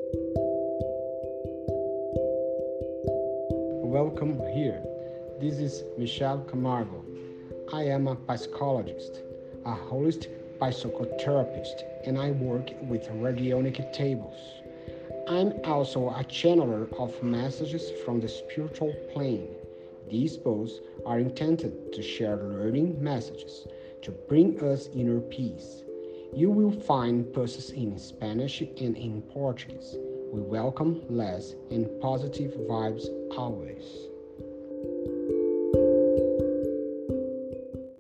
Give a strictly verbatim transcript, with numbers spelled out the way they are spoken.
Welcome here. This is Michelle Camargo. I am a psychologist, a holistic psychotherapist, and I work with radionic tables. I'm also a channeler of messages from the spiritual plane. These posts are intended to share learning messages to bring us inner peace. You will find posts in Spanish and in Portuguese. We welcome less and positive vibes always.